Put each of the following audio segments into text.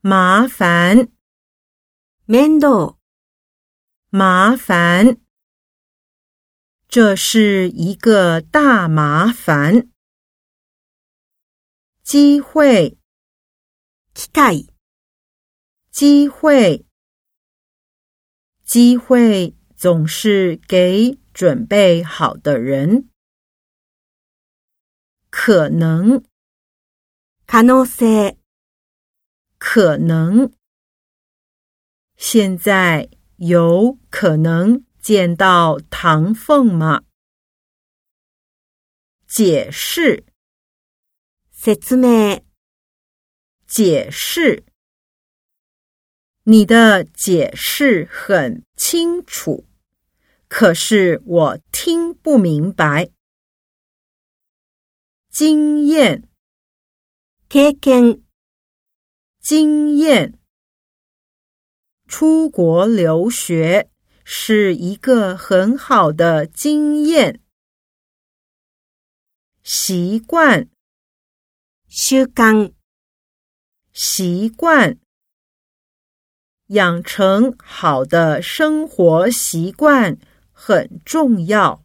麻烦， 面倒， 麻烦。这是一个大麻烦。机会， 機会， 机会。机会总是给准备好的人。可能， 可能性， 可能。现在有可能见到唐凤吗？解释， 説明， 解释。你的解释很清楚，可是我听不明白。经验， 経験， 经验。出国留学是一个很好的经验。习惯， 習慣， 习惯。养成好的生活习惯很重要。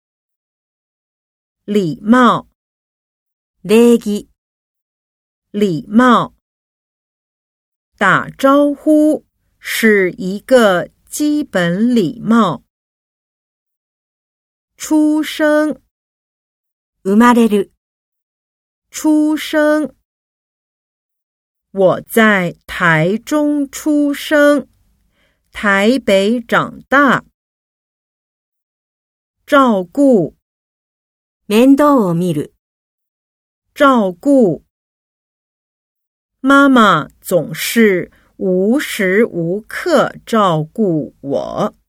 礼貌， 礼儀， 礼貌。打招呼是一个基本礼貌。出生， 生まれる， 出生。我在台中出生，台北长大。照顾， 面倒を見る， 照顾。妈妈总是无时无刻照顾我。